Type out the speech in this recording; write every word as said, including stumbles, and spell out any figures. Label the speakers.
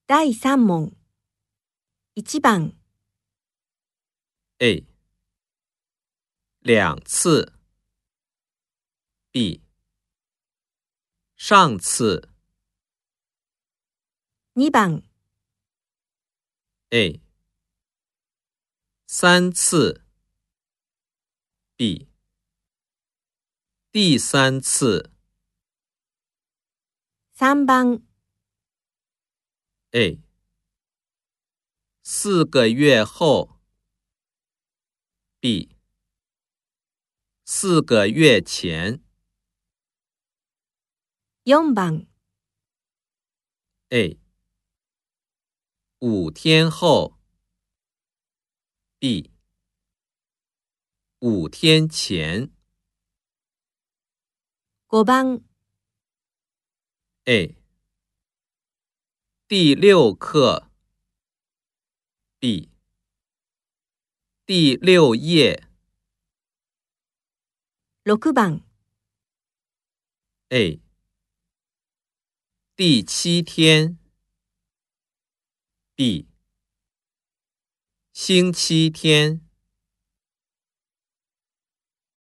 Speaker 1: だいさん問。いち番
Speaker 2: A 两次 B 上次
Speaker 1: に番
Speaker 2: A 三次 B 第三次
Speaker 1: さん番
Speaker 2: A 四个月后 B 四个月前
Speaker 1: よん番
Speaker 2: A 五天后 B 五天前
Speaker 1: ご番
Speaker 2: A 第六课 B 第六页
Speaker 1: ろく番
Speaker 2: A 第七天 B 星期天